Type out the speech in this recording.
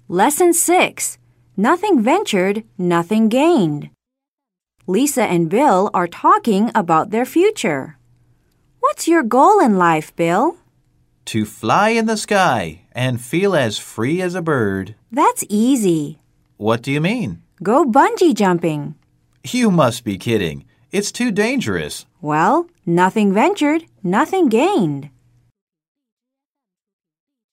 Lesson 6. Nothing ventured, nothing gained. Lisa and Bill are talking about their future. What's your goal in life, Bill? To fly in the sky and feel as free as a bird. That's easy. What do you mean? Go bungee jumping. You must be kidding. It's too dangerous. Well, nothing ventured, nothing gained.